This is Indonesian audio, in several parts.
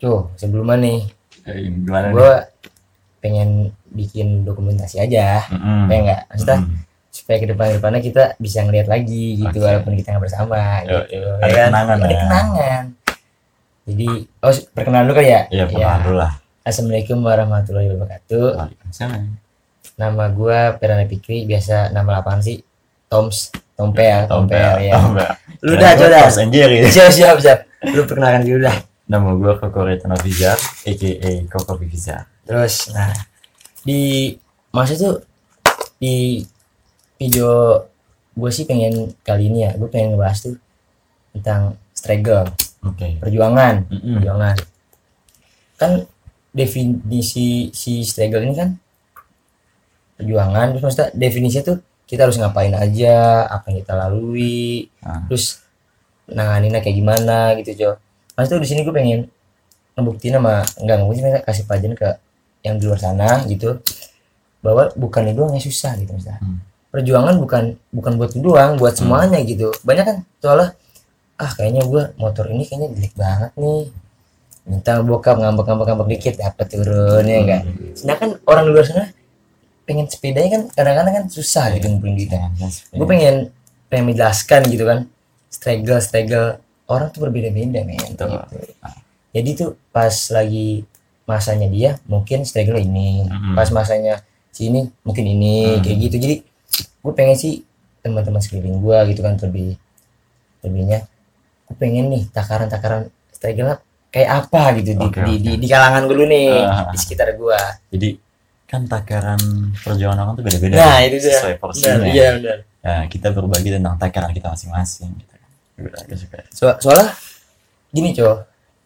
Tuh sebelumnya nih Gimana nih? gue pengen bikin dokumentasi aja, Mm-mm. kayak nggak maksudnya Mm-mm. supaya ke depannya kita bisa ngeliat lagi gitu Oke. walaupun kita nggak bersama Yo, gitu yo. ya Ada kan. kenangan Ada ya. kenangan. Jadi perkenalan dulu kali ya. Iya, Ya, perkenalan dulu lah. assalamualaikum warahmatullahi wabarakatuh. Waalaikumsalam. Nama gue Perana Fikri, biasa nama apaan sih? Tompel Tompel, ya. Tompel. Lu Kirain dah gua coba. Tom and Jerry. Siap. Lu perkenalkan dulu dah. Nama gue Koko Retano Fizar, a.k.a. Koko Fizar. Terus nah di masa tuh di video gue sih pengen kali ini ya, gue pengen ngebahas tuh tentang struggle, Oke. perjuangan. Mm-mm. Perjuangan kan, definisi si struggle ini kan perjuangan, terus maksudnya definisinya tuh kita harus ngapain aja, apa yang kita lalui, Nah, terus nanganinnya kayak gimana gitu Jo. Maksudnya di sini gue pengen ngebuktiin sama enggak ngebuktiin, kasih pelajaran ke yang di luar sana gitu, bahwa bukan itu doang yang susah gitu maksudnya. Perjuangan bukan buat lu doang, buat semuanya gitu. Banyak kan soalnya kayaknya gue motor ini kayaknya jelek banget nih, minta bokap ngambek dikit dapat turunnya enggak. Sedangkan orang di luar sana pengen sepedanya kan kadang-kadang kan susah gitu ngumpulin duitnya. Gue pengen menjelaskan gitu kan, struggle orang tuh berbeda-beda men gitu. Jadi tuh pas lagi masanya dia mungkin struggle ini, pas masanya sini mungkin ini, kayak gitu. Jadi gue pengen sih teman-teman sekeliling gue gitu kan, lebihnya gue pengen nih takaran struggle kayak apa gitu di kalangan gue dulu nih, di sekitar gue. Jadi kan takaran perjuangan orang tuh beda-beda. Nah itu dia. Sesuai porsinya. Iya benar. Nah, kita berbagi tentang takaran kita masing-masing gitu. Soalnya gini cow,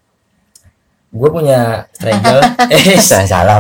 gue punya struggle salah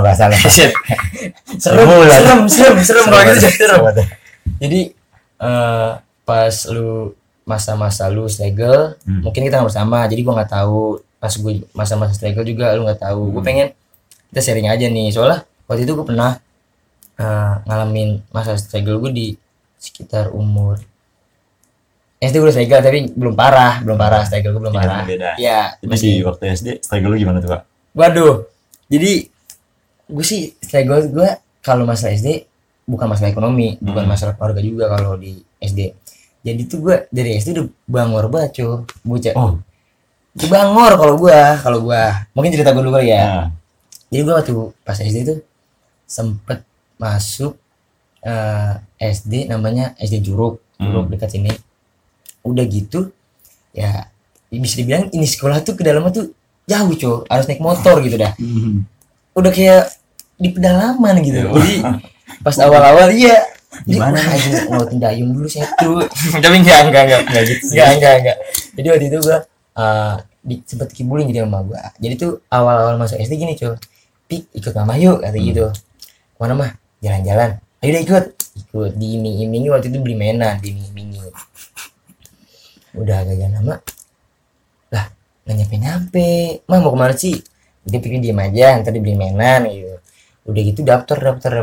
serem kalau gitu serem. Jadi pas lu masa-masa lu struggle, mungkin kita nggak bersama, jadi gue nggak tahu. Pas gue masa-masa struggle juga lu nggak tahu. Gue pengen kita sharing aja nih, soalnya waktu itu gue pernah ngalamin masa struggle gue di sekitar umur SD. Gue udah struggle tapi belum parah struggle gue belum parah. Ya, jadi di waktu SD struggle lu gimana tuh, Pak? Waduh, jadi gue sih struggle gue kalau masalah SD bukan masalah ekonomi, bukan masalah keluarga juga kalau di SD. Jadi tuh gue dari SD udah bangor banget cuy, bocah. Itu bangor kalau gue mungkin cerita gue dulu ya. Jadi gue waktu pas SD tuh sempet masuk SD namanya SD Juruk dekat sini. Udah gitu ya bisa dibilang ini sekolah tuh ke dalamnya tuh jauh coy, harus naik motor gitu dah. Udah kayak di pedalaman gitu. Jadi pas awal-awal iya gimana aja ngeliatin dayung dulu saya tuh. Tapi enggak gitu. Enggak. Jadi waktu itu gua sempet kibulin jadi sama gua. Jadi tuh awal-awal masuk SD gini coy, Pik ikut mama yuk kata gitu. Mana mah? Jalan-jalan. Ayo deh ikut diiming-imingi. Waktu itu beli mainan diiming-imingi. Udah agak jalan lama lah nggak nyampe. Mah mau kemana sih? Dia pikir diem aja, ntar dibeli mainan gitu. Udah gitu daftar.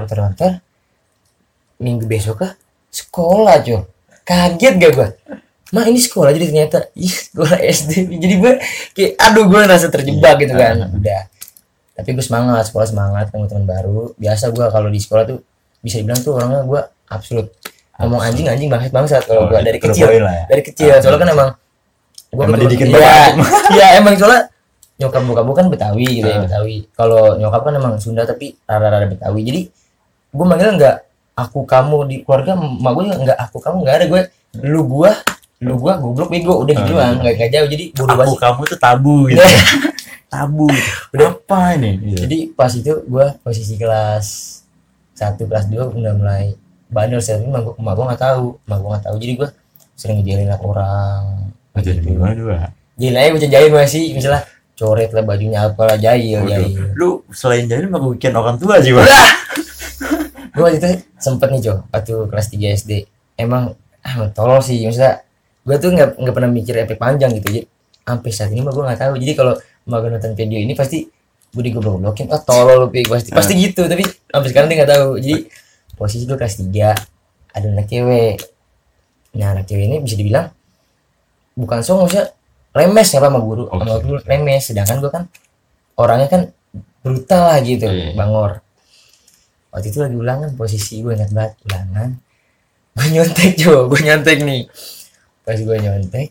Minggu besok sekolah coy. Kaget gak gua? Mah ini sekolah jadi ternyata sekolah SD. Jadi gue kayak gue ngerasa terjebak gitu kan. Udah. Tapi gue semangat, sekolah semangat, ketemu teman baru. Biasa gue kalau di sekolah tuh bisa dibilang tuh orangnya gue absolut. Ngomong anjing bangsat kalau gue dari kecil. Dari kecil. Soalnya kan emang gue didikin iya emang soalnya nyokap bokap gue kan Betawi gitu ya, Betawi. Kalau nyokap kan emang Sunda tapi rada-rada Betawi. Jadi gue manggil enggak aku kamu di keluarga, emak gue juga enggak aku kamu, enggak ada. Gue lu gua goblok bego udah gitu doang, enggak jauh. Jadi bodoh banget. Aku kamu tuh tabu gitu. Tabu. Udah apa ini? Gitu. Jadi pas itu gue posisi kelas 1 kelas 2 udah mulai bandel sih, tapi emak gue nggak tahu. Jadi gue sering ngejailin orang. Jadi gimana dua? Jail aja gue jahil masih misalnya coret lah bajunya apalah, jahil. Lu selain jahil mah bikin orang tua sih, Bang. Gue waktu itu sempet nih Jo, waktu kelas 3 SD emang tolol sih, maksudnya gue tuh nggak pernah mikir efek panjang gitu. Jadi sampai saat ini mah gue nggak tahu. Jadi kalau mau nonton video ini pasti gue digoblok-goblokin, tolol lu pasti gitu. Tapi sampai sekarang dia nggak tahu. Jadi posisi gue kelas 3 ada anak cewek. Nah anak cewek ini bisa dibilang bukan song, maksudnya lemes ya sama guru, sama guru lemes. Sedangkan gue kan orangnya kan brutal lah gitu, Iya. bangor. Waktu itu lagi ulangan, posisi gue ingat banget ulangan, gue nyontek nih. Pas gue nyontek,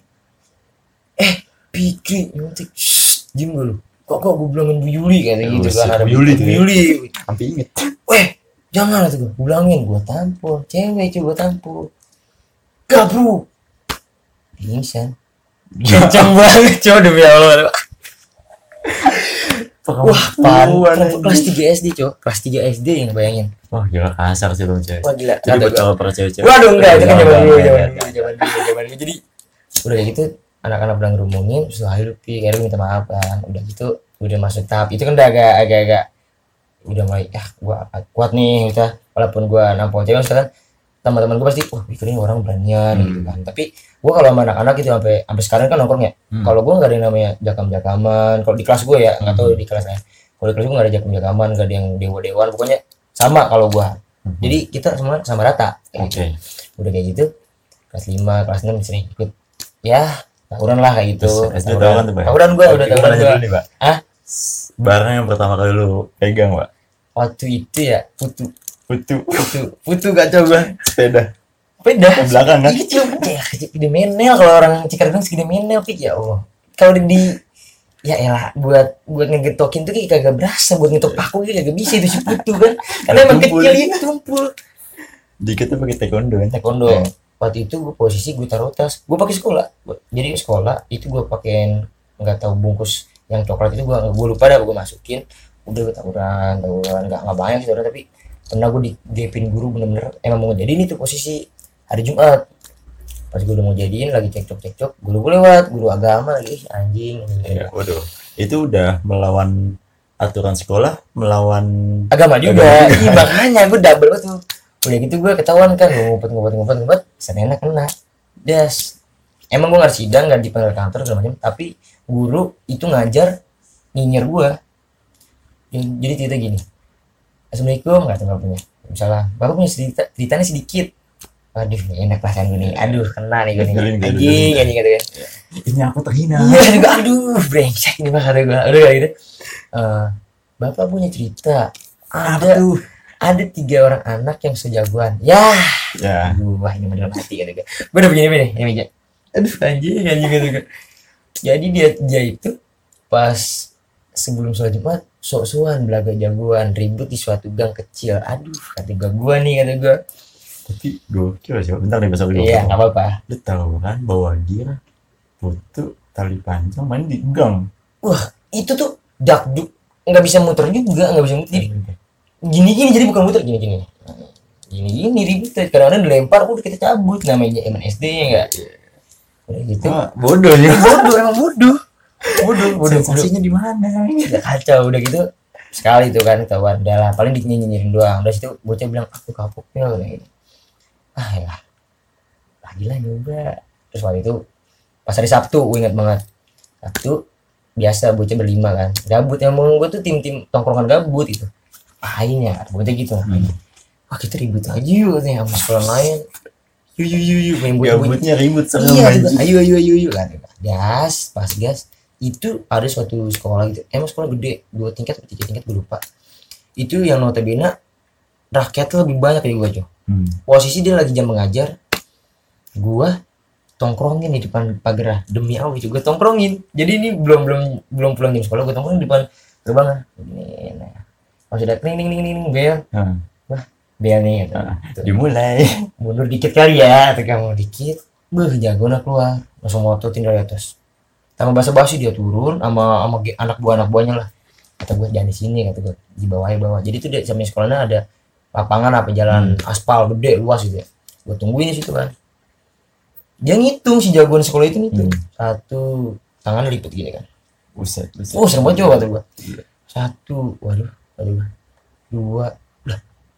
Pikri nyontek, diem dulu. Kok gue bilangin Bu Yuli kayak gitu Oh, kan, ada Bu Yuli tuh Bu ya. Yuli. Sampai inget. Weh, jangan tuh gue bilangin, gue tampol, cewek cuy gue tampol. Gak bro, pingsan. Kenceng banget coy demi Allah. Wah, kelas 3 SD coy, kelas 3 SD yang bayangin. Wah gila kasar sih lu cewek. Wah gila. Jadi Kata buat gua, cowok cewek-cewek. waduh enggak, itu kan zaman dulu, Enggak. zaman dulu. Jadi udah kayak gitu, anak-anak udah ngerumungin, terus ayo Pi, kayak lu minta maaf kan. Udah gitu, udah masuk tahap itu kan udah agak udah mulai gua kuat nih kita, walaupun gua nampol cewek sekarang teman-teman gua pasti wah pikirin orang beranian gitu kan. Tapi gua kalau sama anak-anak itu sampai sekarang kan nongkrong ya. Kalau gua nggak ada yang namanya jakam-jakaman. Kalau di kelas gua ya, nggak tahu di kelas lain. Kalau di kelas gua nggak ada jakam-jakaman, nggak ada yang dewa-dewan, pokoknya sama kalau gua. Jadi kita semua sama rata kayak gitu. Oke. Udah kayak gitu kelas 5, kelas 6 sering ikut ya tawuran lah kayak gitu. Terus SD tawuran tuh, Pak? Tawuran gua udah Gimana tawuran aja gua. dulu nih, Pak? Hah? Barang yang pertama kali lu pegang, Pak? Waktu itu ya putu kacau gua. Sepeda. Beda. Ke belakang kan? Kecil segede menel, kalau orang Cikarang segede menel Pik, ya Allah. Kalau di ya elah buat ngegetokin tuh kayak kagak berasa, buat ngetok paku kayak kagak bisa itu si putu kan. Karena emang Tumpul. kecil itu tumpul. Dikit tuh pakai taekwondo kan? Taekwondo. Waktu itu gue posisi gue taruh tas, gue pakai sekolah. Jadi sekolah itu gue pakein nggak tahu bungkus yang coklat itu, gue lupa dah gue masukin. Udah gue tawuran nggak banyak sih tapi pernah gue digepin guru bener-bener emang mau jadiin itu posisi hari Jumat. Pas gue udah mau jadiin lagi cekcok guru gue lewat, guru agama lagi anjing. Iya, waduh. Itu udah melawan aturan sekolah, melawan Agama juga. Iya makanya gue double tuh. Udah gitu gue ketahuan kan, gue ngumpet, senena kena. Das. Emang gue nggak sidang, nggak dipanggil kantor segala macam, tapi guru itu ngajar nyinyir gue. Jadi cerita gini. Assalamualaikum, nggak punya. Misalnya, bapak punya ceritanya sedikit. Aduh, enak perasaan gue nih. Aduh, kena nih gue nih. Anjing gitu kan. ini aku terhina. Iya, juga aduh, brengsek ini mah kata gue. Udah kayak gitu. Bapak punya cerita. Ada 3 orang anak yang sejagoan. Ya. Aduh, wah ini dalam hati kan gue. Gue udah begini nih, ini meja. Aduh, anjing gitu kan. Jadi dia itu pas sebelum sholat Jumat sok-sokan belaga jagoan, ribut di suatu gang kecil. Aduh, kata gue nih. Tapi gokil sih, bentar nih besok dulu. Iya, nggak apa-apa. Lu tahu kan bahwa dia putu tali panjang main di gang. Wah, itu tuh dakduk, nggak bisa muter juga, nggak bisa muter. Jadi gini jadi bukan muter gini ribut. Kadang-kadang dilempar, udah kita cabut. Namanya emang SD ya nggak? Udah gitu. Bodoh ya. Emang bodoh. Sensasinya di mana? Udah kacau, udah gitu. Sekali tuh kan ketahuan, udah lah paling dinyinyirin doang. Udah situ bocah bilang aku kapoknya kayak gitu. Ya lagi lah nyoba. Terus waktu itu pas hari Sabtu gue ingat banget, Sabtu biasa bocah berlima kan gabut, yang mau gue tuh tim tongkrongan gabut itu akhirnya bocah gitu lah. Wah kita ribut aja yuk nih sama sekolah lain, yuk main gabutnya ribut sama iya ayo kan. Gas itu ada suatu sekolah gitu, emang sekolah gede 2 tingkat atau 3 tingkat gue lupa, itu yang notabene rakyatnya lebih banyak dari gue aja. Posisi dia lagi jam mengajar, gua tongkrongin di depan pagar, demi Allah itu gua tongkrongin. Jadi ini belum pulang jam sekolah, gua tongkrongin di depan gerbang. Ini nah. Pas udah ning bel. Wah, bel nih gitu. Dimulai. Mundur dikit kali ya, atau kamu dikit. Jagoan keluar, langsung ngototin dari atas. Sama basa-basi dia turun sama anak buahnya lah. Kata gua jangan di sini, kata gua di bawah. Jadi tuh dia samping sekolahnya ada lapangan apa jalan aspal gede luas gitu ya. Gue tungguin di situ kan. Dia ngitung si jagoan sekolah itu ngitung. 1 tangan lipet gini kan. Buset. Oh serem banget coba kata gue. 1, waduh 2, lah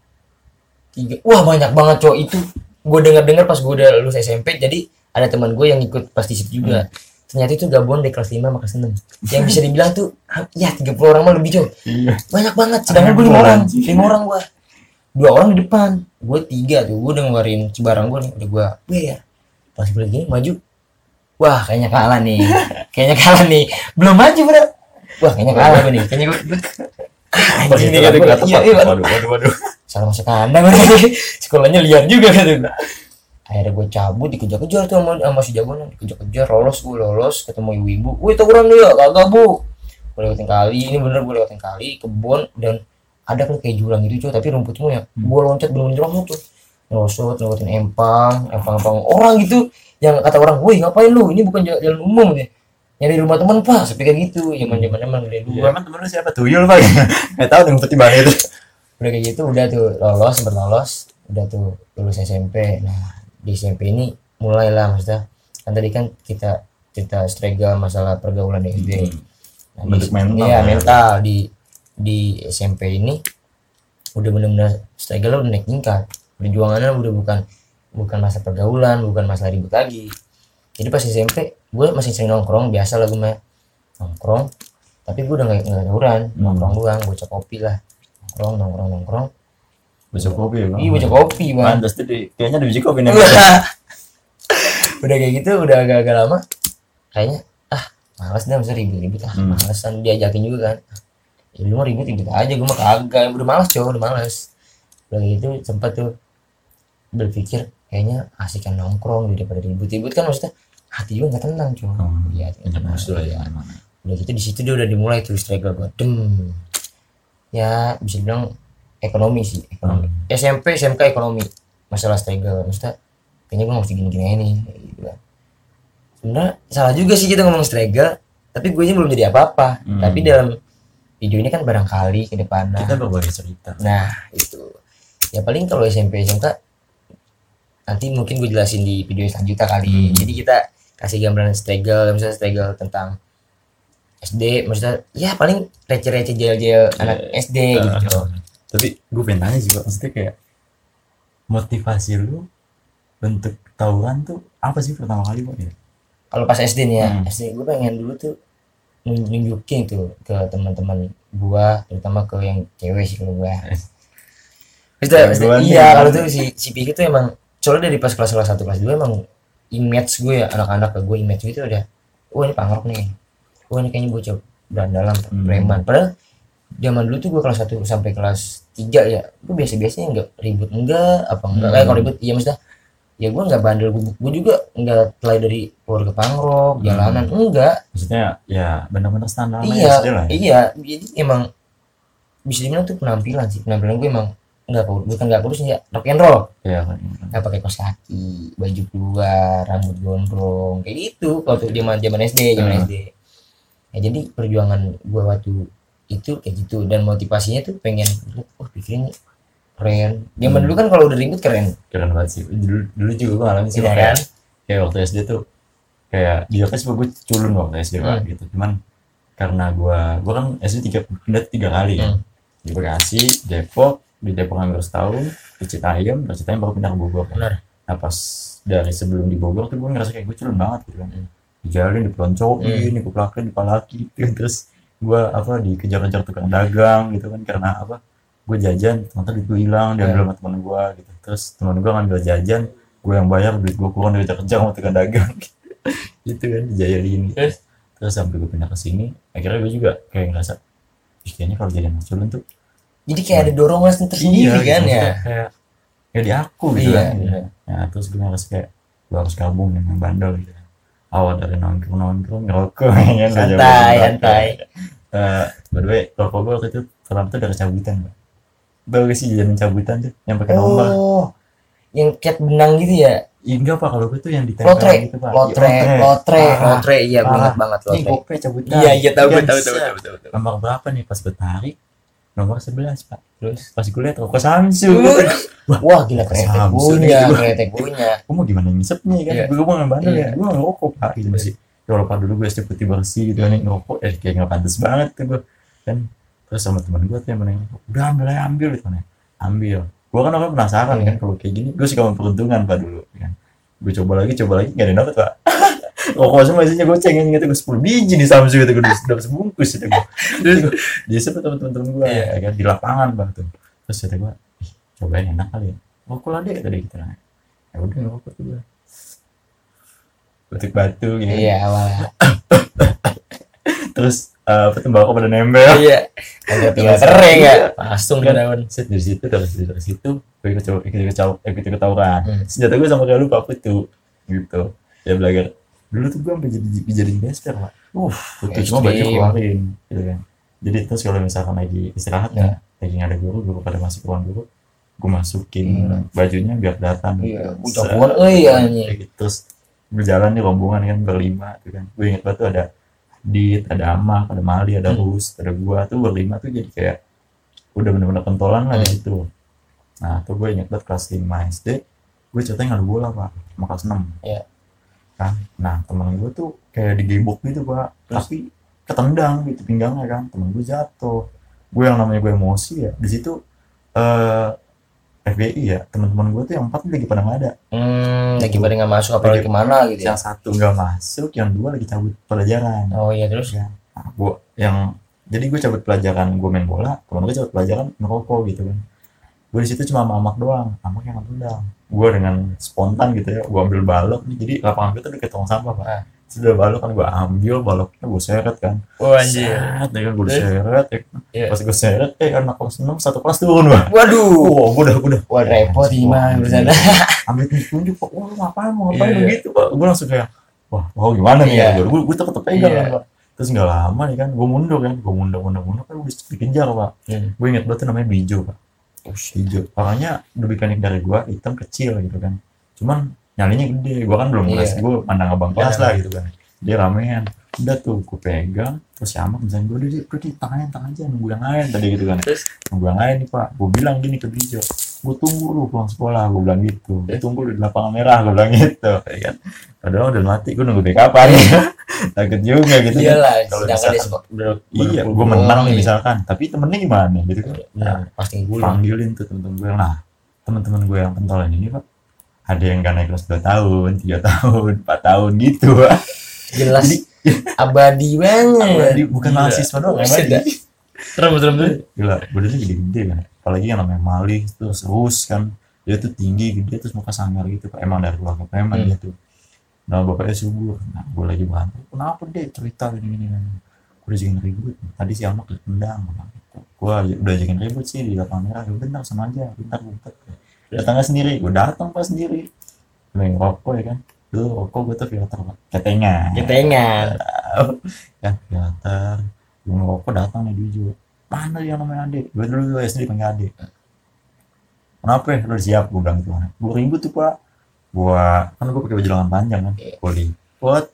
3. Wah banyak banget cowok itu. Gue dengar pas gue udah lulus SMP. Jadi ada teman gue yang ikut pas di situ juga. Ternyata itu gabungan dari kelas 5 sama kelas 6. Yang bisa dibilang tuh ya 30 orang mah lebih cowok. Iya. Banyak banget. Sedangkan gue 5 orang gue. 2 orang di depan, gue 3 tuh, gue udah ngeluarin barang gue nih, udah gue bayar. Pas gue lagi maju, wah kayaknya kalah nih, belum maju bro, wah kayaknya kalah gue nih, kayaknya gue anjing nih kata gue, iya Waduh. salah masuk kandang sekolahnya liar juga kata gue. Akhirnya gue cabut, dikejar-kejar tuh sama si jagoan, dikejar-kejar, lolos ketemu ibu-ibu, wih tawuran lu ya, kagak bu, gue lewatin kali, ini bener gue lewatin kali kebun, dan ada kan kayak jurang gitu cuy, tapi rumput semua ya, gue loncat bener-bener langsung tuh nyosot lewatin empang orang gitu, yang kata orang, wih ngapain lu, ini bukan jalan umum ya, nyari rumah teman pak, seperti kayak gitu, zaman dari Iya, dua. emang temen lu siapa? Tuyul pak? Nggak tahu dong pertimbangan itu. Udah kayak gitu udah tuh lolos, udah tuh lulus SMP. Nah di SMP ini mulailah maksudnya, kan tadi kan kita cerita struggle masalah pergaulan di SD. Nah, Bentuk mental iya ya. mental di SMP ini udah benar-benar struggle udah naik tingkat, perjuangannya udah bukan masa pergaulan, bukan masalah ribut lagi. Jadi pas SMP gue masih sering nongkrong, biasa lah gue mah nongkrong, tapi gue udah nggak tawuran, nongkrong doang, bocah kopi lah, nongkrong. Baca kopi ya bang? Iya baca kopi bang. Pantas tuh kayaknya ada biji kopi nih. Udah kayak gitu udah agak lama kayaknya malas dah masa ribut malesan diajakin juga kan, ya lu mah ribut aja, gue mah kagak, udah malas udah malas. Udah kayak gitu sempat tuh berpikir kayaknya asikan nongkrong daripada ribut kan, maksudnya hati juga nggak tenang iya Musuh ya. udah gitu di situ dia udah dimulai tuh struggle gue ya bisa bilang ekonomi SMP SMK ekonomi, masalah struggle, maksudnya kayaknya gue mesti gini-gini aja nih gitu kan. Sebenarnya salah juga sih kita ngomong struggle, tapi gue nya belum jadi apa-apa. Tapi dalam video ini kan barangkali ke depannya Kita berbagi cerita. nah itu ya paling kalau SMP SMK nanti mungkin gue jelasin di video selanjutnya kali. Jadi kita kasih gambaran struggle, misalnya struggle tentang SD, maksudnya ya paling receh-receh jail-jail anak SD gitu. Tapi gue pengen tanya sih Pak, maksudnya kayak motivasi lu bentuk tawuran tuh apa sih pertama kali Pak ya? Kalau pas SD nih ya, SD gue pengen dulu tuh nunjukin tuh ke teman-teman gua, terutama ke yang cewek sih kalau gua. Maksudnya, iya kalau tuh si Piki tuh emang soalnya dari pas kelas 1 kelas 2 emang image gue ya, anak-anak ke gue image gitu udah, ini pangrok nih, ini kayaknya bocah berandalan preman. Padahal zaman dulu tuh gue kelas 1 sampai kelas 3 ya, gue biasa-biasanya enggak ribut enggak kayak kalau ribut iya maksudnya ya gue nggak bandel, gue juga nggak terlai dari keluarga pangrok jalanan enggak, maksudnya ya benar-benar standar iya SD lah ya? Iya jadi emang bisa dibilang tuh penampilan gue emang nggak kurus ya, rock and roll Iya kan. nggak pakai kaos kaki, baju keluar, rambut gondrong kayak gitu kalau tuh zaman SD ya. Jadi perjuangan gue waktu itu kayak gitu, dan motivasinya tuh pengen pikirin keren. Zaman dulu kan kalau udah ribut keren banget sih. Dulu juga gue ngalamin sih iya kayak, kan. kayak waktu SD tuh kayak dia kan gue culun waktu SD Pak gitu. Cuman karena gue kan SD pindah 3 kali ya. Di Bekasi, Depok, di Depok hampir setahun, di Citayam baru pindah ke Bogor. Benar. Nah pas dari sebelum di Bogor tuh gue ngerasa kayak gue culun banget gitu kan. Dijalin, dipeloncokin, dipalakin, dipalaki gitu. Terus gue dikejar-kejar tukang dagang gitu kan, karena gue jajan ternyata duit gue hilang, diambil sama teman gue gitu. Terus teman gue ngambil jajan, gue yang bayar, duit gue kurang, dikejar-kejar sama tukang dagang gitu kan, dijailin gitu. Terus sampai gue pindah ke sini, akhirnya gue juga kayak ngerasa kayaknya kalau jadi anak culun tuh jadi kayak ada dorongan tersendiri kan gitu, ya, kayak di aku gitu iya, kan gitu. Nah terus gue ngerasa kayak gue harus gabung dengan bandel gitu. Awal dari nongkrong ngerokok ya, santai. By the way, rokok gue waktu itu pertama tuh dari cabutan Pak. Tau gak sih jajanan cabutan tuh yang pakai nomor? Yang cat benang gitu ya? Enggak Pak, kalau gue tuh yang ditempel gitu Pak. Lotre, iya gue ingat banget Ini lotre. gope cabutan. Iya tahu. Nomor berapa nih pas gue tarik? Nomor 11 Pak. Terus pas gue liat rokok Samsu. Wah gila kretek punya. Gue mau gimana ngisepnya kan? Gue mau ngebandel ya. Gue mau ngerokok Pak gitu masih. Kalau Pak dulu gue SD putih bersih gitu kan, ngerokok kayak nggak pantas banget tuh gue kan. Terus sama teman gue tuh yang menanya, udah ambil gitu kan, ambil. Gue kan orang penasaran kan kalau kayak gini, gue suka memperuntungan Pak dulu kan. Gue coba lagi nggak ada dapet Pak. Rokok semua isinya gue cengin gitu, gue 10 biji di Samsu gitu, gue udah sebungkus gitu gue. Terus gue disebut teman-teman gue kan di lapangan Pak tuh. Terus kata gue, cobain enak kali ya. Rokok lah deh tadi gitu lah. Ya udah ngerokok tuh gue. Batuk batu gitu. Iya awalnya. terus tembakau pada nempel. Iya. Agak tinggal kering ya. Langsung ke daun. Set dari situ gue ikut tawuran. Senjata gue sama kayak lu Pak Putu gitu. Ya belajar. Dulu tuh gue sampai dijadiin bester Pak. Putu cuma baju keluarin gitu kan. Jadi terus kalau misalkan lagi istirahat ya, lagi nggak ada guru pada masuk ke ruang guru, gue masukin bajunya biar datang. Iya. Jagoan anjing. Terus berjalan di rombongan kan berlima tuh kan. Gue inget banget tuh ada Dit, ada Amak, ada Mali, ada Rus, ada gua tuh berlima tuh jadi kayak udah bener-bener pentolan lah di situ. Nah tuh gue inget banget kelas 5 SD, gue ceritanya ngadu bola Pak, sama kelas 6. Iya. Kan, nah temen gue tuh kayak digebok gitu Pak, tapi ketendang gitu pinggangnya kan, temen gue jatuh. Gue yang namanya gue emosi ya, di situ FBI ya, teman-teman gue tuh yang 4 lagi pada nggak ada. Lagi pada nggak masuk apa lagi kemana gitu ya? Yang 1 nggak masuk, yang 2 lagi cabut pelajaran. Oh iya terus? Ya. Nah, jadi gue cabut pelajaran, gue main bola, teman gue cabut pelajaran ngerokok gitu kan. Gue di situ cuma sama Amak doang, Amak yang tendang. Gue dengan spontan gitu ya, gue ambil balok nih, jadi lapangan gue tuh deket tong sampah Pak. Sudah balok kan gue ambil baloknya, gue seret kan. Oh anjir. Seret ya kan, gue seret ya. Pas gue seret, anak kelas 6 satu kelas turun Pak. Waduh. Gue udah. Wah repot gimana bersana. Ambil tunjuk Pak, lu ngapain begitu Pak. Gue langsung kayak, wah gimana nih ya. Gue tetep pegang kan Pak. Terus nggak lama nih kan, gue mundur kan, kan udah dikejar Pak. Gue inget banget tuh namanya Bijo Pak. Hijau, makanya lebih pendek dari gue, hitam kecil gitu kan. Cuman nyalinya gede, gue kan belum kelas, gue mandang abang kelas lah gitu kan. Dia ramean, udah tuh gue pegang, terus si Amak misalnya gue udah tangan aja nunggu yang lain tadi gitu kan. Nunggu yang lain nih Pak, gue bilang gini ke Bijo, gue tunggu lu pulang sekolah, gue bilang gitu. Tunggu di lapangan merah, gue bilang gitu, ya kan. Padahal udah mati, gue nunggu deh kapan ya. Takut juga gitu. Iyalah, kalau misalkan gue menang nih misalkan, tapi temennya gimana gitu kan. Nah, pasti gue panggilin tuh temen-temen gue. Nah, temen-temen gue yang pentolan ini Pak, ada yang gak naik kelas 2 tahun, 3 tahun, 4 tahun gitu Pak. Jelas. Jadi, abadi banget. Bukan mahasiswa doang, abadi. Serem. Gila, badannya gede-gede kan. Apalagi yang namanya Mali, terus Rus kan. Dia tuh tinggi, gede, terus muka sangar gitu Pak. Emang dari keluarga preman dia tuh. Nah bapaknya subur. Nah gue lagi bantu, kenapa deh cerita gini gue udah jangan ribut tadi si Amak ditendang gue udah jangan ribut sih di lapangan merah. Ya bentar sama aja, bentar datangnya sendiri. Gue datang pas sendiri main rokok ya kan. Dulu rokok gue tuh filter Pak, ketengan ya filter. Gue ngerokok datang nih Dijo, mana yang namanya Ade, gue dulu SD panggil Ade. Kenapa ya, lu siap, gue bilang gitu. Gue ribut tuh Pak, gue pakai baju lengan panjang kan, gue lipot,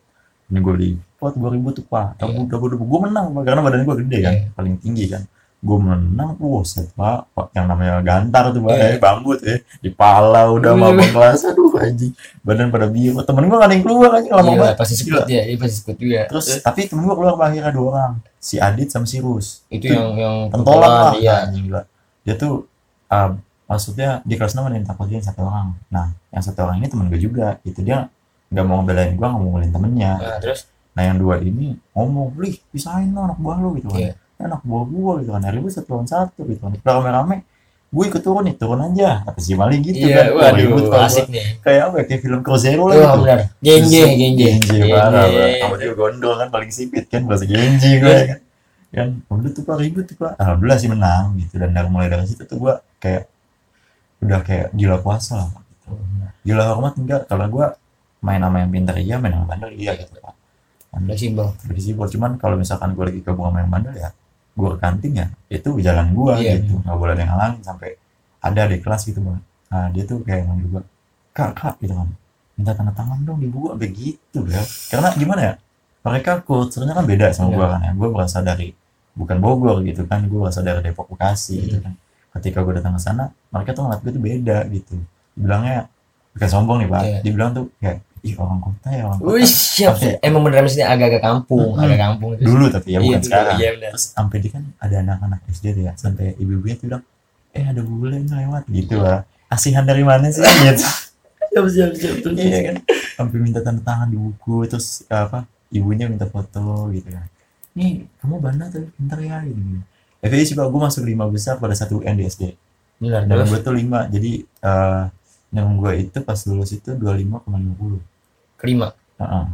gue ribut tuh Pak, gue menang Pak, karena badan gue gede kan, paling tinggi kan, gue menang, set Pak, yang namanya gantar tuh Pak, bambu tuh ya, di pala udah mabok kelas, aduh anjing, badan pada biru, temen gue gak ada yang keluar aja, lama banget, pasti sekut ya, pasti sekut juga. Terus tapi temen gue keluar akhirnya 2 orang, si Adit sama si Rus, itu yang pentolan lah, anjing gila, dia tuh maksudnya di kelas 6 ada yang takutin 1 orang. Nah, yang 1 orang ini temen gue juga. Itu dia nggak mau ngebelain gue, nggak mau ngebelain temennya. Nah, yang 2 ini ngomong, "Lih, pisahin lo anak buah lo," gitu kan. Anak buah gue gitu kan. Ribut 1 lawan 1 gitu kan. Udah rame-rame, gue ikut turun aja. Kata si Mali gitu kan. Waduh, asik nih. Kayak apa ya? Kayak film Cruzeiro lah gitu. Benar. Genji. Parah. Sama dia gondol kan paling sipit kan. Bahasa Genji gue kan. Kan, udah tuh Pak ribut tuh Pak. Alhamdulillah sih menang gitu. Dan mulai dari situ tuh gue kayak udah kayak gila puasa lah gitu. Gila hormat enggak, kalau gue main sama yang pintar iya, main sama bandel iya gitu Pak. Fleksibel. Cuman kalau misalkan gue lagi gabung sama yang bandel ya, gue ke kantin ya, itu jalan gue gitu. Nggak boleh ada yang ngalangin sampai ada di kelas gitu Bang. Nah dia tuh kayak ngomong juga, kak gitu kan, minta tanda tangan dong di buku sampai gitu ya. Karena gimana ya, mereka kulturnya kan beda sama gue kan ya. Gue berasal dari bukan Bogor gitu kan, gue berasal dari Depok Bekasi gitu kan. Ketika gue datang ke sana, mereka tuh ngeliat gue tuh beda gitu. Dibilangnya bukan sombong nih Pak, dibilang tuh kayak ih orang kota ya orang kota. Wih siap, emang beneran sini agak-agak kampung, itu dulu tapi ya bukan sekarang. Terus sampai di kan ada anak-anak SD tuh ya, sampai ibu-ibunya tuh bilang, ada bule lewat gitu lah. Asihan dari mana sih gitu. Siap terus. Iya kan, sampai minta tanda tangan di buku, terus ibunya minta foto gitu kan. Nih kamu bandel tuh, pintar ya gitu. FEI sih Pak, gue masuk 5 besar pada 1 UN di SD. Dan gue tuh 5, jadi yang gue itu pas lulus itu 25,50. Kelima?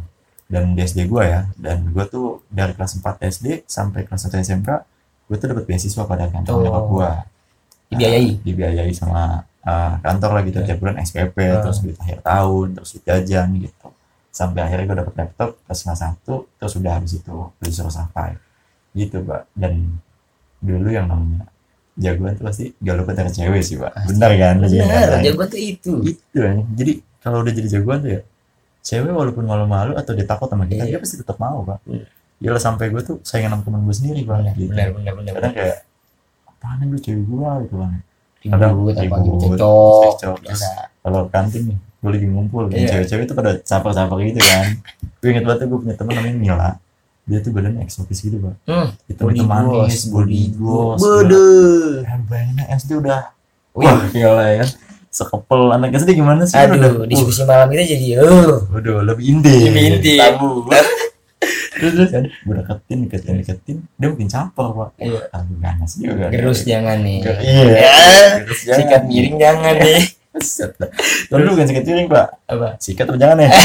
dan di SD gue ya, dan gue tuh dari kelas 4 SD sampai kelas 1 SMK gue tuh dapat beasiswa pada kantor nyokap gue. Dibiayai sama kantor lah gitu, tiap bulan SPP, terus duit akhir tahun, terus duit jajan gitu, sampai akhirnya gue dapet laptop pas kelas 1, terus udah habis itu disuruh sampai gitu Pak. Dan dulu yang namanya jagoan tuh pasti gak lupa dari cewek sih Pak. Benar kan? Benar, jagoan tuh itu ya. Jadi kalau udah jadi jagoan tuh ya, cewek walaupun malu-malu atau dia takut sama kita, dia pasti tetap mau Pak. Yalah, sampai gue tuh saingan sama temen gue sendiri Pak. Gitu. Benar. Kadang kayak apaan lu cewek gue gitu kan. Ribut apa gitu, cocok. Kalau kantin nih, gue lagi ngumpul, cewek-cewek itu pada capar-capar gitu kan. Gue inget banget tuh, gue punya teman namanya Mila. Dia tuh badannya eksotis gitu Pak. Itu manis, body gloss. Bodoh. Bayangin SD udah, wah gila ya. Sekepel anak SD gimana sih? Aduh, diskusi malam kita jadi udah lebih inti. Tabu. Terus kan gue deketin, dia mungkin campur Pak. Aduh ganas juga. Gerus jangan nih. Gerus jangan. Sikat miring jangan nih. Tapi lu bukan sikat miring Pak. Apa? Sikat apa jangan ya?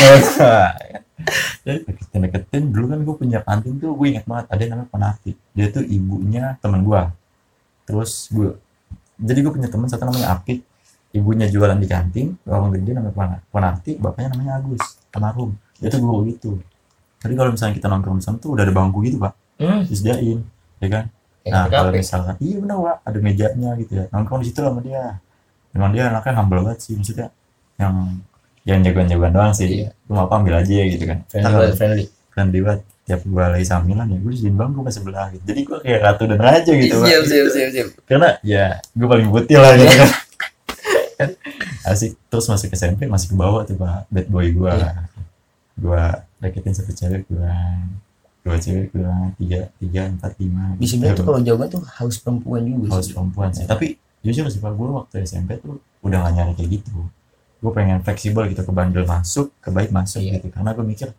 Deketin dulu kan gue punya kantin tuh, gue ingat banget ada yang namanya Penati. Dia tuh ibunya teman gue. Terus jadi gue punya teman satu namanya Apik. Ibunya jualan di kantin, orang gede namanya Penati, bapaknya namanya Agus almarhum. Dia tuh guru gitu. Jadi kalau misalnya kita nongkrong di sana tuh udah ada bangku gitu Pak, disediain, ya kan? Nah kalau misalkan, iya benar Pak, ada mejanya gitu ya, nongkrong di situ sama dia. Memang dia anaknya humble banget sih, maksudnya yang jagoan-jagoan doang sih. Lu mau apa ambil aja gitu kan? Friendly banget. Tiap gue lagi samilan ya, gue disediain bangku pas sebelah gitu. Jadi gue kayak ratu dan raja gitu Pak. Siap. Karena ya gue paling putih lah gitu kan. Asik. Terus masuk SMP masih ke bawah tuh Pak, bad boy gue. Gue deketin satu cewek dua cewek tiga empat lima. Di sebenarnya tuh kalau jagoan tuh haus perempuan juga. Haus perempuan sih. Tapi jujur sih Pak, gue waktu SMP tuh udah gak nyari kayak gitu. Gue pengen fleksibel gitu, ke bandel masuk, ke baik masuk gitu. Karena gue mikir,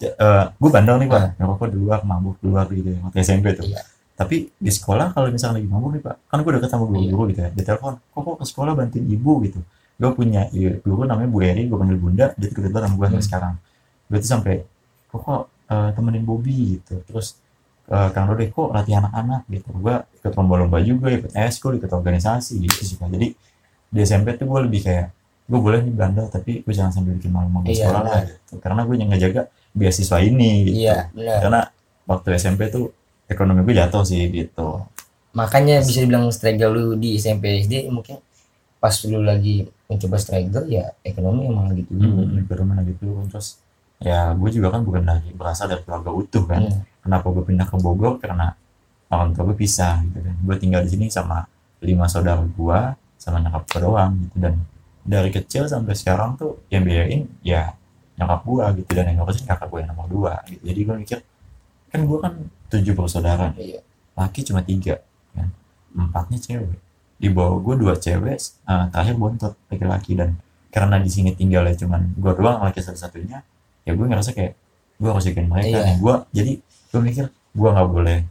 gue bandel nih Pak, ngerokok di luar, mabuk di luar gitu ya, waktu SMP tuh. Tapi di sekolah kalau misalnya lagi mabuk nih Pak, kan gue deket sama guru gitu ya, dia telepon, kok ke sekolah bantuin ibu gitu. Gue punya guru namanya Bu Eri, gue panggil Bunda, dia deket banget sama gue sampai sekarang. Gue tuh sampai kok temenin Bobby gitu, terus Kang Dode kok latih anak-anak gitu. Gue ikut lomba-lomba juga, ikut eskul, ikut organisasi gitu sih Pak. Jadi di SMP tuh gue lebih kayak, gue boleh nih bandel tapi gue jangan sambil bikin malu-malu sekolah lah gitu, karena gue yang ngejaga beasiswa ini gitu. Karena waktu SMP tuh ekonomi gue jatuh sih gitu. Makanya bisa dibilang struggle lu di SMP SD, mungkin pas lu lagi mencoba struggle ya ekonomi emang gitu. Ekonomi lagi turun. Terus ya gue juga kan bukan lagi berasal dari keluarga utuh kan. Kenapa gue pindah ke Bogor? Karena orang tua gue pisah gitu kan. Gue tinggal di sini sama 5 saudara gue sama nyokap gue doang gitu. Dan dari kecil sampai sekarang tuh yang biayain ya nyokap gue gitu, dan yang ngurusin kakak gue yang nomor 2 gitu. Jadi gue mikir, kan gue kan 7 bersaudara, laki cuma 3 kan, 4-nya cewek. Di bawah gue 2 cewek, terakhir bontot laki-laki. Dan karena di sini tinggalnya cuman gue doang laki satu-satunya, ya gue ngerasa kayak gue harus jagain mereka nih. Jadi gue mikir gue nggak boleh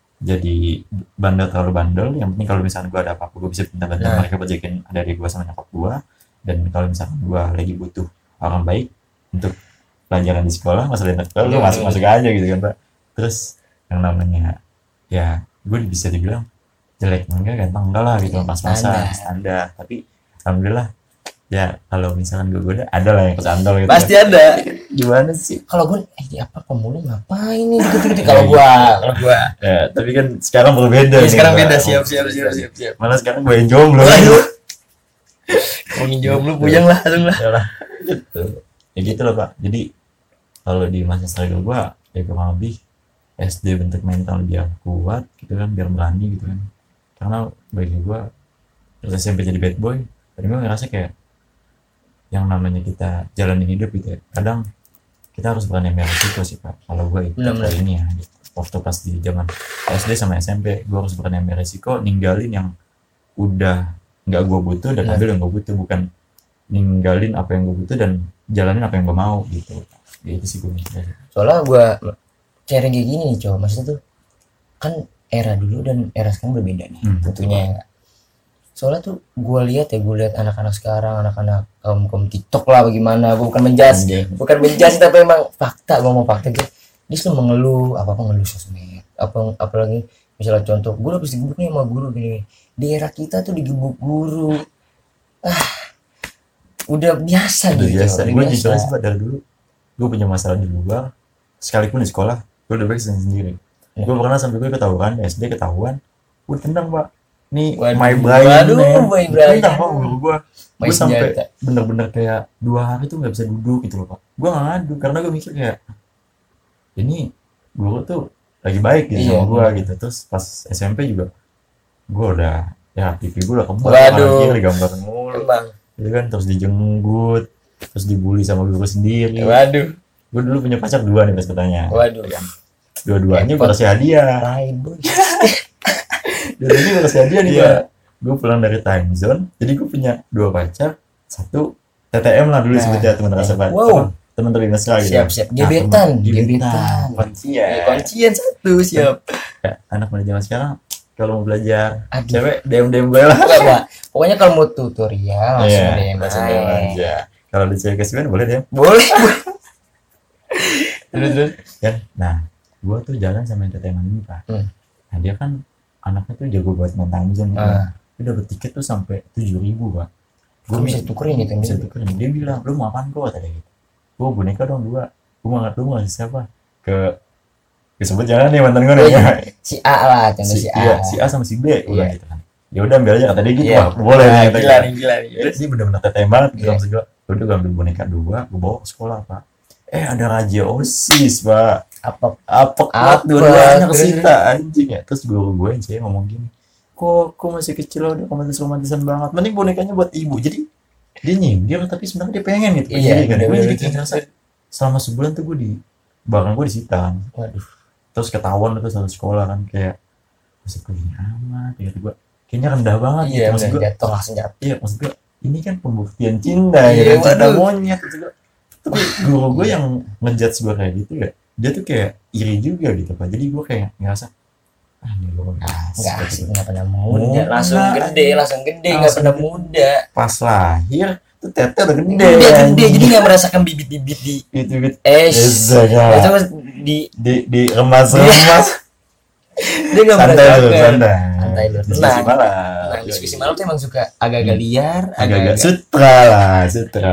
jadi bandel, terlalu bandel. Yang penting kalau misalnya gue ada apa-apa, gue bisa minta bantuan mereka buat jagain adik gue sama nyokap gue. Dan kalau misalnya gue lagi butuh orang baik untuk pelajaran di sekolah, masalah internet, gue masuk aja gitu kan Pak. Terus yang namanya ya gue bisa dibilang jelek enggak, ganteng enggak lah gitu, pas-pasan standar. Tapi alhamdulillah ya, kalau misalkan gue ada lah yang kesandal gitu. Pasti ada. Gimana sih? Kalau gue apa pemulung ngapain nih gitu-gitu kalau gue ya, tapi kan sekarang berbeda nih. Sekarang beda, siap. Malah sekarang gue yang jomblo. Ngomongin jomblo puyeng lah langsung lah. Gitu. Ya gitu loh Pak. Jadi kalau di masa struggle gue ya kurang lebih SD bentuk mental biar kuat gitu kan, biar berani gitu kan. Karena bagi gue terus SMP jadi bad boy, tadi gue ngerasa kayak yang namanya kita jalanin hidup gitu ya, kadang kita harus berani ambil resiko sih Pak. Kalau gue itu kayak ini ya gitu. Waktu pas di zaman SD sama SMP, gue harus berani ambil resiko, ninggalin yang udah nggak gue butuh dan ambil yang gue butuh, bukan ninggalin apa yang gue butuh dan jalanin apa yang gue mau gitu. Ya itu sih gue mikir. Soalnya gue sharing kayak gini nih maksudnya tuh kan era dulu dan era sekarang berbeda nih tentunya. Soalnya tuh gue lihat anak-anak sekarang, anak-anak kaum TikTok lah bagaimana. Gue bukan menjudge tapi emang fakta, gue mau fakta gitu. Dia selalu mengeluh apa ngeluh sosmed, apalagi misalnya contoh gue habis digebuk nih sama guru gini, di era kita tuh digebuk guru, udah biasa Udah gitu. biasa. Udah Gue biasa. jujur aja Pak, dari dulu gue punya masalah di luar, sekalipun di sekolah gue udah baik sendiri. Gue pernah sampai gue ketahuan SD, ketahuan gue tendang Pak. Nih Waduh, my Brian, waduh, my Brian. tendang Pak guru gue. My Gue sampai senjata. bener-bener kayak 2 hari tuh nggak bisa duduk gitu loh Pak. Gue nggak ngadu karena gue mikir kayak ini guru tuh lagi baik gitu Iya, sama gue iya. gitu. Terus pas SMP juga gue udah ya pipi gue udah kembar, Waduh. kanan kiri gambar mulu, Emang. gitu kan. Terus dijenggut, terus dibully sama guru sendiri. Waduh. Gue dulu punya pacar 2 nih pas bertanya. Waduh. Dua-duanya gue Repot. kasih hadiah. Tai boy. Dua-duanya gue kasih hadiah nih Iya. Pak. Gue pulang dari time zone, jadi gue punya 2 pacar, 1 TTM lah dulu Nah, sebutnya, teman rasa Pak. wow. Teman dari mesra gitu. Siap. Nah, Gebetan. gebetan. Kuncian. Kuncian satu siap. Ya, anak muda zaman sekarang kalau mau belajar Aduh. cewek DM gue lah. Enggak, Pak. Pokoknya kalau mau tutorial langsung deh, langsung Mas. DM aja. Kalau di cewek kesian boleh DM. Boleh. Terus ya. Nah, gue tuh jalan sama entertainment ini Pak. Nah, dia kan anaknya tuh jago buat main time zone gitu. Dia dapat tiket tuh sampai 7.000 Pak. Gue bisa tukerin gitu. Bisa tukerin. Dia bilang, lu mau apaan kok tadi gitu. Gue boneka dong 2. Gue mau ngasih siapa? Ke disebut jangan nih mantan gue nih. Si A lah, contoh si A. Iya, si A sama si B udah Iya. gitu kan. Ya udah ambil aja kata dia gitu. Iya. Wah, boleh Nah, nih. gila nih. Dia bener-bener TTM banget gitu Iya. maksud gue. Udah gue ambil boneka 2, gue bawa ke sekolah Pak. Ada raja OSIS Pak. Apa dua-duanya Terus, kesita anjing ya. Terus guru gue yang cewek ngomong gini, kok masih kecil loh, udah romantis-romantisan banget, mending bonekanya buat ibu. Jadi dia nyindir tapi sebenarnya dia pengen gitu. Iya, Jadi kan gue bener-bener. jadi kayak ngerasa selama sebulan tuh gue barang gue disita. Waduh. Terus ketahuan itu satu sekolah kan, kayak maksud gue gini amat gitu, gue kayaknya rendah banget Iya, gitu. Maksud bener, gue jatuh langsung jatuh. iya, maksud gue ini kan pembuktian cinta Iya, ya kan, cinta waduh. monyet gitu. Tapi guru gue yang ngejudge gue kayak gitu ya, dia tuh kayak iri juga gitu Pak. Jadi gue kayak ngerasa ini lu Enggak gitu. sih, enggak pernah muda. Muda. Langsung gede, enggak Langsung pernah gede. muda. Pas lahir tuh tete udah gede, Udah gede, anjing. jadi enggak merasakan bibit-bibit di gitu gitu Itu ya. mas Di remas dia enggak santai dulu, merasakan. santai Santai dulu. diskusi Tenang. malam. Nah, diskusi malam tuh emang suka agak-agak liar, agak sutra lah, sutra.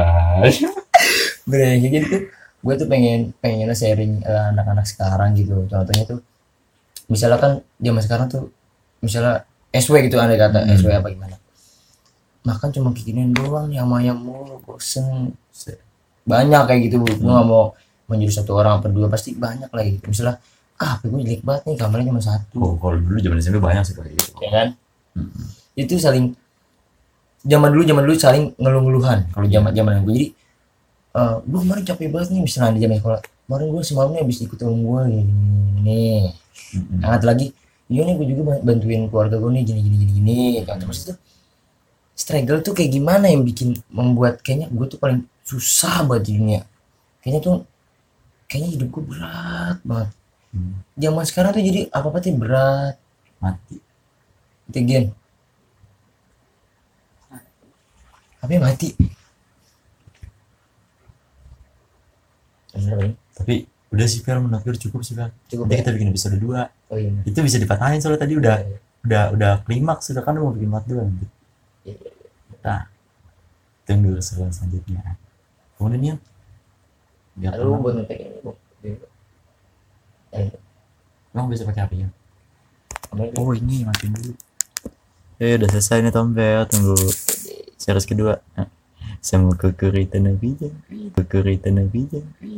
Bener kayak gitu. Gue tuh pengen sharing anak-anak sekarang gitu. Contohnya tuh misalnya kan zaman sekarang tuh misalnya SW gitu, andai kata SW apa gimana, makan cuma kikinin doang nih sama ayam mulu, bosen. Banyak kayak gitu. Gue nggak mau menjadi satu orang apa 2, pasti banyak lah gitu. Misalnya HP gue jelek banget nih, kameranya cuma 1. Oh, kalau dulu zaman SMP banyak sih kayak gitu. Ya kan? Itu saling zaman dulu saling ngeluh-ngeluhan kalau zaman gue. Jadi gue kemarin capek banget nih, misalnya di zaman sekolah kemarin gue semalamnya habis ikut temen gue gini. Hangat lagi, iya nih gue juga bantuin keluarga gue nih gini kan. Terus itu struggle tuh kayak gimana yang membuat kayaknya gue tuh paling susah banget di dunia. Kayaknya hidup gue berat banget. Zaman sekarang tuh jadi apa-apa tuh berat. Mati. Itu gen. Apa yang mati? Tapi udah sih Fer, menurut gue cukup sih Fer. Cukup Nanti ya? kita bikin episode 2. Oh iya. Itu bisa dipatahin soalnya tadi udah klimaks, sudah kan mau bikin part 2 nanti. Nah, tunggu selanjutnya. Kemudian biar Lalu buat ngetek ini, Bu. emang bisa pakai HP-nya. Oh, Ini matiin dulu. Udah selesai nih Tom Fer, tunggu series kedua. Sama kekuritan Nabi.